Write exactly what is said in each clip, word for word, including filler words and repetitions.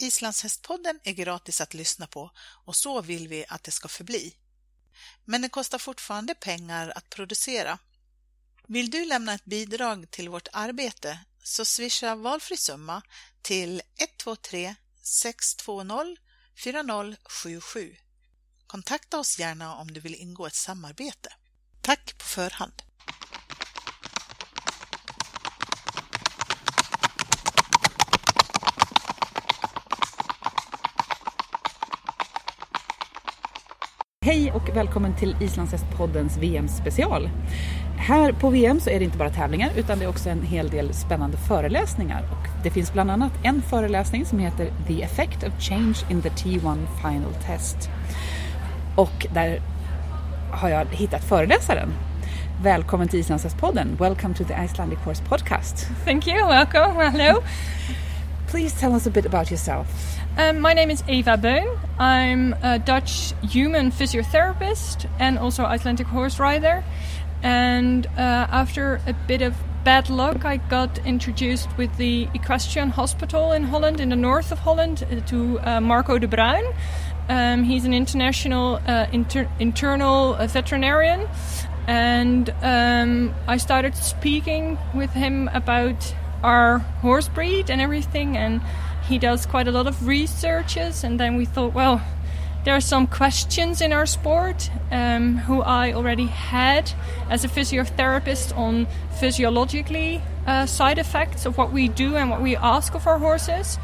Islandshästpodden är gratis att lyssna på och så vill vi att det ska förbli. Men det kostar fortfarande pengar att producera. Vill du lämna ett bidrag till vårt arbete så swisha valfri summa till ett två tre sex två noll fyra noll sju sju. Kontakta oss gärna om du vill ingå ett samarbete. Tack på förhand! Hej och välkommen till Islandshästpoddens V M-special. Här på V M så är det inte bara tävlingar utan det är också en hel del spännande föreläsningar. Och det finns bland annat en föreläsning som heter The Effect of Change in the T one Final Test. Och där har jag hittat föreläsaren. Välkommen till Islandshästpodden. Welcome to the Icelandic Horse Podcast. Thank you, welcome, hello. Please tell us a bit about yourself. Um, my name is Eva Beun. I'm a Dutch human physiotherapist and also Icelandic horse rider. And uh, after a bit of bad luck, I got introduced with the Equestrian Hospital in Holland, in the north of Holland, uh, to uh, Marco de Bruin. Um, he's an international uh, inter- internal uh, veterinarian. And um, I started speaking with him about our horse breed and everything, and he does quite a lot of researches. And then we thought, well, there are some questions in our sport um, who I already had as a physiotherapist on physiologically uh, side effects of what we do and what we ask of our horses.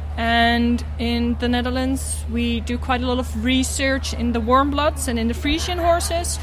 And in the Netherlands we do quite a lot of research in the warm bloods and in the Frisian horses.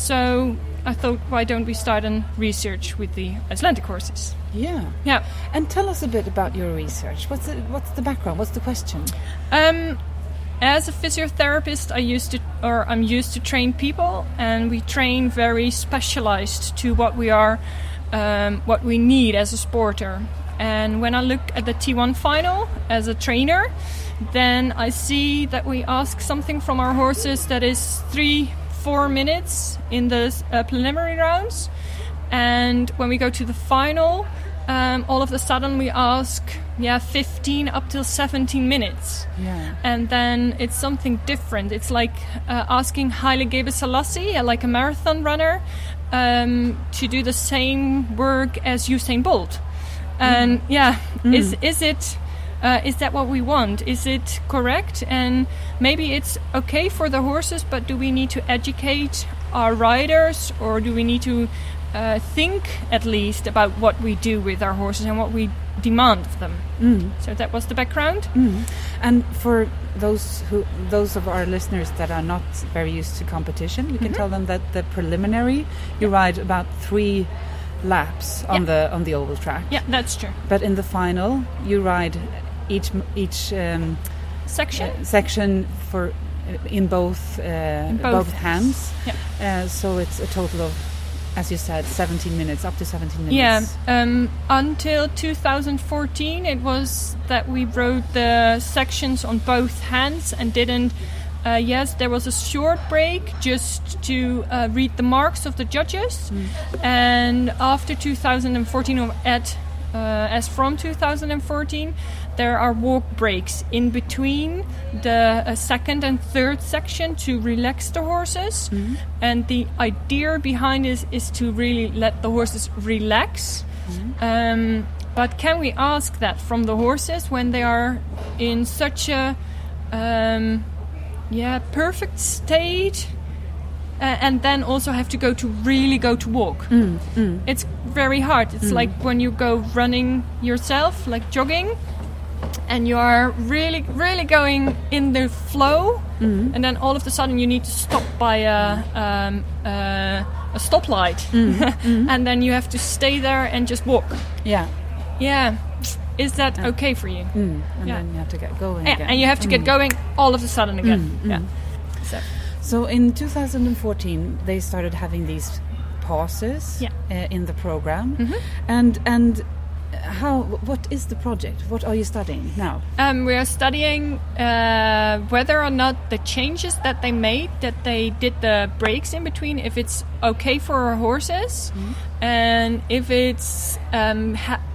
So I thought, why don't we start on research with the Icelandic horses? Yeah. Yeah. And tell us a bit about your research. What's the, what's the background? What's the question? Um, as a physiotherapist, I used to, or I'm used to train people, and we train very specialized to what we are, um, what we need as a sporter. And when I look at the T one final as a trainer, then I see that we ask something from our horses that is three, four minutes in the uh, preliminary rounds. And when we go to the final, um, all of a sudden we ask, yeah, fifteen up till seventeen minutes. Yeah. And then it's something different. It's like uh, asking Haile Gebrselassie, like a marathon runner, um, to do the same work as Usain Bolt. And mm. yeah, mm. is is it uh, is that what we want? Is it correct? And maybe it's okay for the horses, but do we need to educate our riders, or do we need to Uh, think at least about what we do with our horses and what we demand of them? Mm. So that was the background. Mm. And for those who, those of our listeners that are not very used to competition, we can mm-hmm. tell them that the preliminary you yeah. ride about three laps on yeah. the on the oval track. Yeah, that's true. But in the final, you ride each each um, section uh, section for in both uh, in both. both hands. Yeah. Uh, so it's a total of, as you said, seventeen minutes, up to seventeen minutes. Yeah, um, until two thousand fourteen it was that we rode the sections on both hands and didn't, uh, yes, there was a short break just to uh, read the marks of the judges. Mm. And after two thousand fourteen, or at, uh, as from two thousand fourteen, there are walk breaks in between the uh, second and third section to relax the horses. Mm-hmm. And the idea behind this is to really let the horses relax. Mm-hmm. Um, but can we ask that from the horses when they are in such a um, yeah perfect state, uh, and then also have to go to really go to walk? Mm, mm. It's very hard. It's mm. like when you go running yourself, like jogging, and you are really, really going in the flow, mm. and then all of a sudden you need to stop by a, um, uh, a stoplight, mm. mm. and then you have to stay there and just walk. Yeah. Yeah. Is that yeah. okay for you? Mm. And yeah. then you have to get going yeah. again. And you have to mm. get going all of a sudden again. Mm. Yeah. Mm. So. so in two thousand fourteen, they started having these pauses yeah. uh, in the program. Mm-hmm. And and how? What is the project? What are you studying now? Um, we are studying uh, whether or not the changes that they made, that they did the breaks in between, if it's okay for our horses, mm-hmm. and if it's um, ha-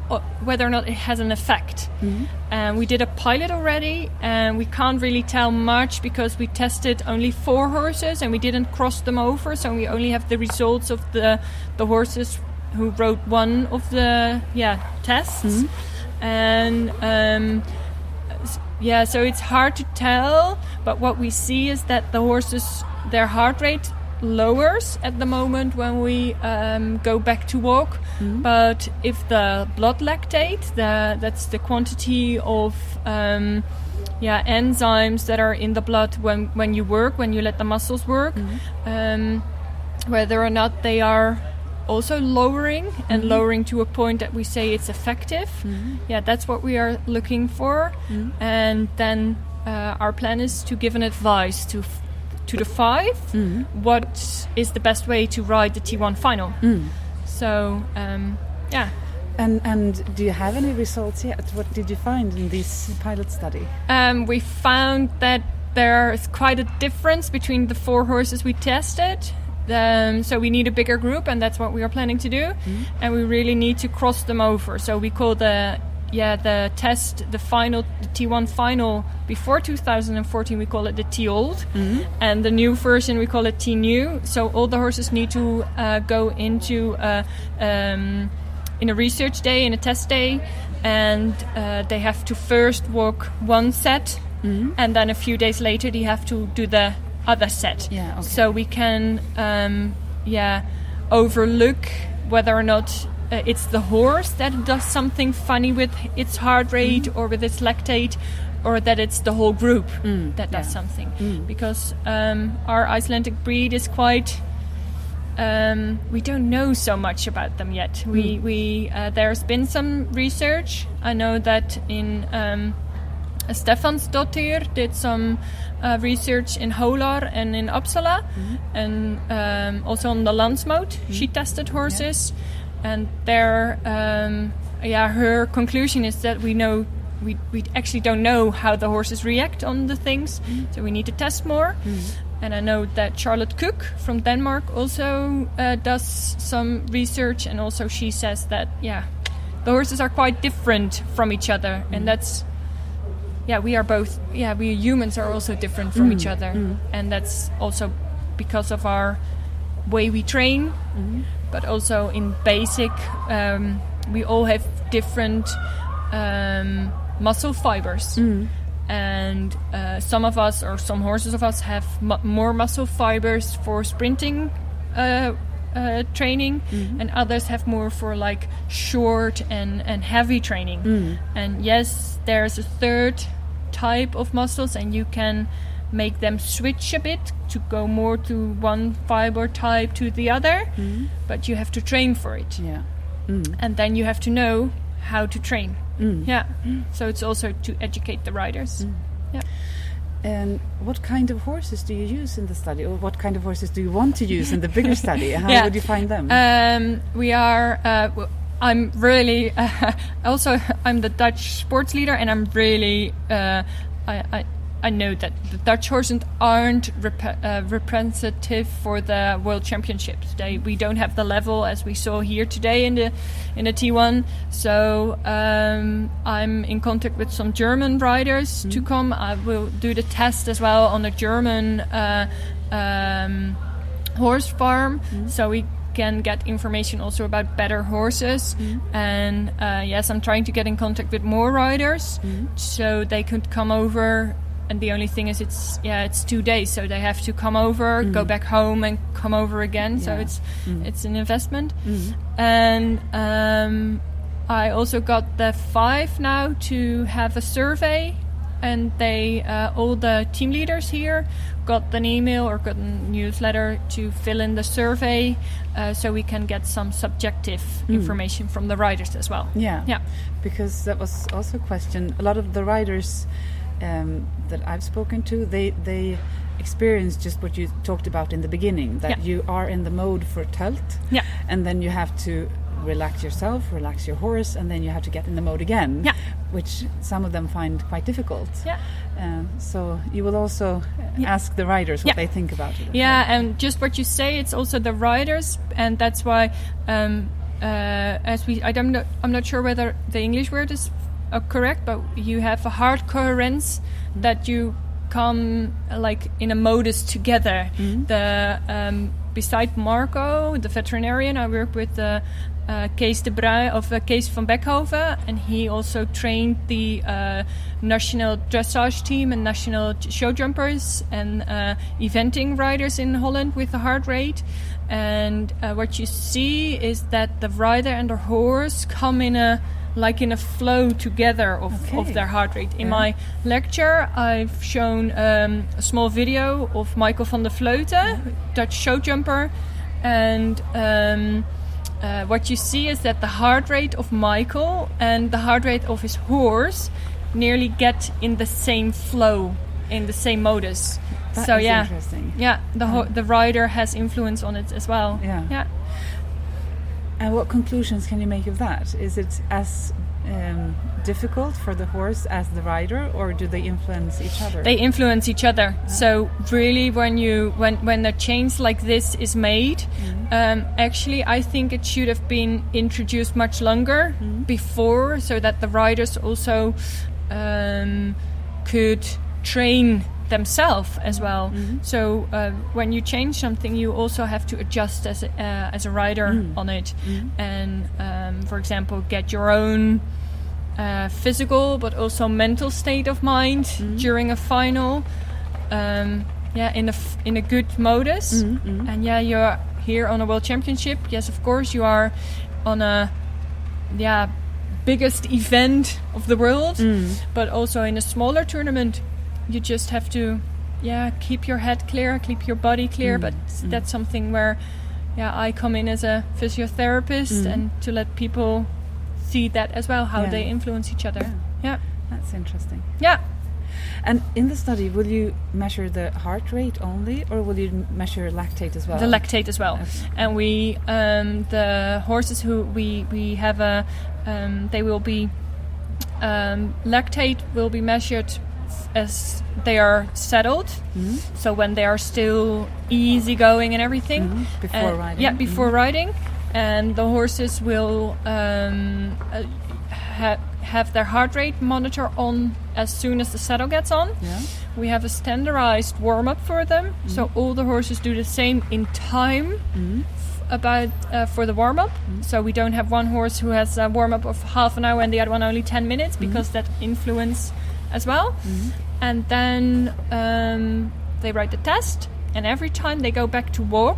uh, whether or not it has an effect. Mm-hmm. And we did a pilot already, and we can't really tell much because we tested only four horses and we didn't cross them over, so we only have the results of the the horses who rode one of the yeah tests. Mm-hmm. And um, yeah, so it's hard to tell, but what we see is that the horses, their heart rate lowers at the moment when we um, go back to walk. Mm-hmm. But if the blood lactate, the, that's the quantity of um, yeah enzymes that are in the blood when, when you work, when you let the muscles work, mm-hmm. um, whether or not they are also lowering and mm-hmm. lowering to a point that we say it's effective. Mm-hmm. Yeah, that's what we are looking for. Mm-hmm. And then uh, our plan is to give an advice to f- to the five mm-hmm. what is the best way to ride the T one final. Mm. So um, yeah. And and do you have any results yet? What did you find in this pilot study? Um, we found that there's quite a difference between the four horses we tested. Um, so we need a bigger group, and that's what we are planning to do. Mm-hmm. And we really need to cross them over. So we call the yeah the test the final the T one final before two thousand fourteen. We call it the T old, mm-hmm. and the new version we call it T new. So all the horses need to uh, go into a, um, in a research day, in a test day, and uh, they have to first walk one set, mm-hmm. and then a few days later they have to do the other set. Yeah, okay. So we can um, yeah overlook whether or not uh, it's the horse that does something funny with its heart rate mm. or with its lactate, or that it's the whole group mm, that does yeah. something. Mm. Because um, our Icelandic breed is quite um, we don't know so much about them yet. Mm. We we uh, there's been some research. I know that in um, Stefansdóttir did some uh, research in Hólar and in Uppsala, mm-hmm. and um, also on the Landsmoot. Mm-hmm. She tested horses, yeah. and there, um, yeah, her conclusion is that we know we we actually don't know how the horses react on the things, mm-hmm. so we need to test more. Mm-hmm. And I know that Charlotte Cook from Denmark also uh, does some research, and also she says that yeah, the horses are quite different from each other, mm-hmm. and that's. Yeah, we are both. Yeah, we humans are also different from mm. each other, mm. and that's also because of our way we train. Mm. But also in basic, um, we all have different um, muscle fibers, mm. and uh, some of us, or some horses of us, have mu- more muscle fibers for sprinting uh, uh, training, mm. and others have more for like short and and heavy training. Mm. And yes, there's a third type of muscles, and you can make them switch a bit to go more to one fiber type to the other, mm. but you have to train for it. Yeah. Mm. And then you have to know how to train. Mm. Yeah. Mm. So it's also to educate the riders. Mm. Yeah. And what kind of horses do you use in the study, or what kind of horses do you want to use in the bigger study? How yeah. would you find them? Um, we are. Uh, w- I'm really uh, also I'm the Dutch sports leader, and I'm really uh, I, I I know that the Dutch horses aren't rep- uh, representative for the World Championships. They we don't have the level as we saw here today in the in the T one. So um, I'm in contact with some German riders mm-hmm. to come. I will do the test as well on a German uh, um, horse farm, mm-hmm. so we can get information also about better horses. Mm-hmm. And uh, yes, I'm trying to get in contact with more riders, mm-hmm. so they could come over. And the only thing is, it's yeah, it's two days, so they have to come over, mm-hmm. go back home, and come over again. Yeah. So it's mm-hmm. it's an investment. Mm-hmm. And um, I also got the five now to have a survey, and they uh, all the team leaders here got an email or got a newsletter to fill in the survey, uh, so we can get some subjective mm. information from the riders as well. Yeah, yeah, because that was also a question. A lot of the riders Um, that I've spoken to, they they experience just what you talked about in the beginning, that yeah. you are in the mode for Tölt, yeah. and then you have to relax yourself, relax your horse, and then you have to get in the mode again, yeah. which some of them find quite difficult. Yeah. Uh, so you will also yeah. ask the riders what yeah. they think about it. Yeah, and just what you say, it's also the riders, and that's why um, uh, as we, I don't know, I'm not sure whether the English word is uh, correct, but you have a heart coherence that you come uh, like in a modus together. Mm-hmm. The um, beside Marco, the veterinarian, I work with the uh, Kees de Bruin of uh, Kees van Beckhoven, and he also trained the uh, national dressage team and national show jumpers and uh, eventing riders in Holland with the heart rate. And uh, what you see is that the rider and the horse come in a like in a flow together of, Okay. of their heart rate. In Yeah. my lecture, I've shown um, a small video of Michael van der Vleuten, Dutch show jumper, and um, uh, what you see is that the heart rate of Michael and the heart rate of his horse nearly get in the same flow, in the same modus. That so is yeah, interesting. yeah, the ho- the rider has influence on it as well. Yeah. yeah. And what conclusions can you make of that? Is it as um, difficult for the horse as the rider, or do they influence each other? They influence each other. So really, when you when when a change like this is made, Mm-hmm. um, actually, I think it should have been introduced much longer Mm-hmm. before, so that the riders also um, could train themselves as well. Mm-hmm. So uh, when you change something, you also have to adjust as a, uh, as a rider Mm. on it, Mhm. and um, for example, get your own uh, physical but also mental state of mind Mhm. during a final. Um, yeah, in a f- in a good modus, Mhm, mhm. and yeah, you're here on a world championship. Yes, of course, you are on a yeah biggest event of the world, Mm. but also in a smaller tournament, you just have to yeah keep your head clear, keep your body clear. Mm, But mm. that's something where yeah I come in as a physiotherapist Mm. and to let people see that as well, how Yeah. they influence each other. Yeah. Yeah, That's interesting. yeah. And in the study, will you measure the heart rate only, or will you m- measure lactate as well? The lactate as well. Okay. And we um, the horses who we we have a um, they will be um, lactate will be measured f- as they are settled. Mhm. So when they are still easy going and everything. Mhm. Before And- riding. Yeah, before riding. And the horses will um, uh, ha- have their heart rate monitor on as soon as the saddle gets on. Yeah. We have a standardized warm-up for them. So all the horses do the same in time Mhm. f- about uh, for the warm-up. So we don't have one horse who has a warm-up of half an hour and the other one only ten minutes, because that influence as well. And then um, they write the test, and every time they go back to walk,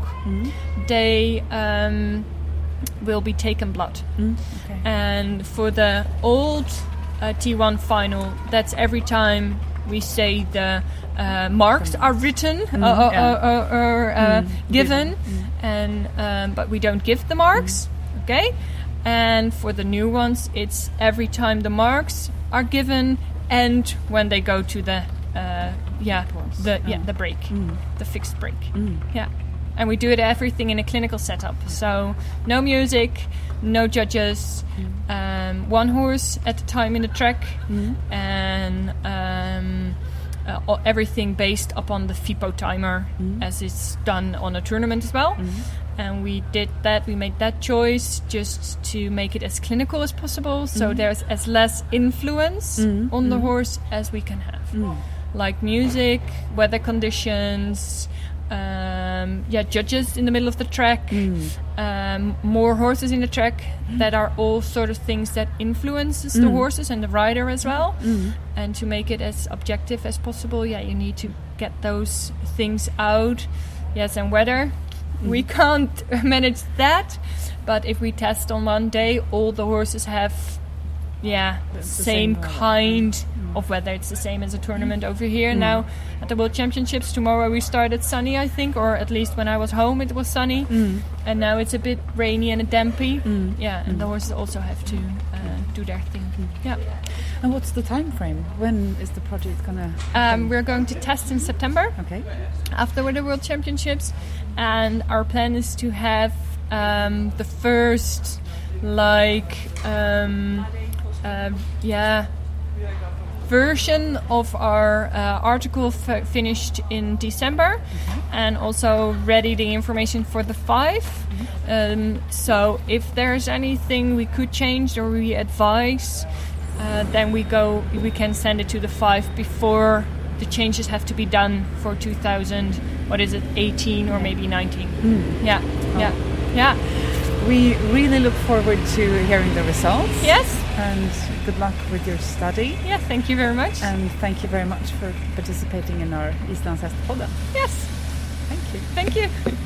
they um, will be taken blood. Mm. Okay. And for the old uh, T one final, that's every time we say the uh, marks are written uh, uh, yeah. uh, uh, or uh, Mm, given, given. and um, but we don't give the marks. Okay, and for the new ones, it's every time the marks are given and when they go to the uh, yeah Pause. the yeah Oh. the break, Mm. the fixed break. Mm. Yeah. And we do it everything in a clinical setup. So no music, no judges, um, one horse at a time in the track, and um, uh, o- everything based upon the FIPO timer, as it's done on a tournament as well. And we did that, we made that choice just to make it as clinical as possible, so there's as less influence Mm. on the horse as we can have. Mm. Like music, weather conditions, um, yeah, judges in the middle of the track, um, more horses in the track. That are all sort of things that influences the horses and the rider as well. And to make it as objective as possible, yeah, you need to get those things out. Yes, and weather, we can't manage that. But if we test on one day, all the horses have, yeah, The- the same, same weather. kind of weather. It's the same as a tournament over here. Now at the World Championships tomorrow we started sunny, I think, or at least when I was home it was sunny, and now it's a bit rainy and dampy. Yeah, and the horses also have to uh, do their thing. Yeah, And what's the time frame? When is the project gonna? um, we're going to test in September Okay. after the World Championships, and our plan is to have um, the first like um, uh, yeah version of our uh, article f- finished in December, and also ready the information for the five. Um, so if there's anything we could change or we advise, uh, then we go. We can send it to the five before the changes have to be done for two thousand. What is it, eighteen or maybe nineteen? Mm. Yeah, Oh. yeah, yeah. We really look forward to hearing the results. Yes. And good luck with your study. Yeah. Thank you very much. And thank you very much for participating in our Islandshästpodden. Yes. Thank you. Thank you.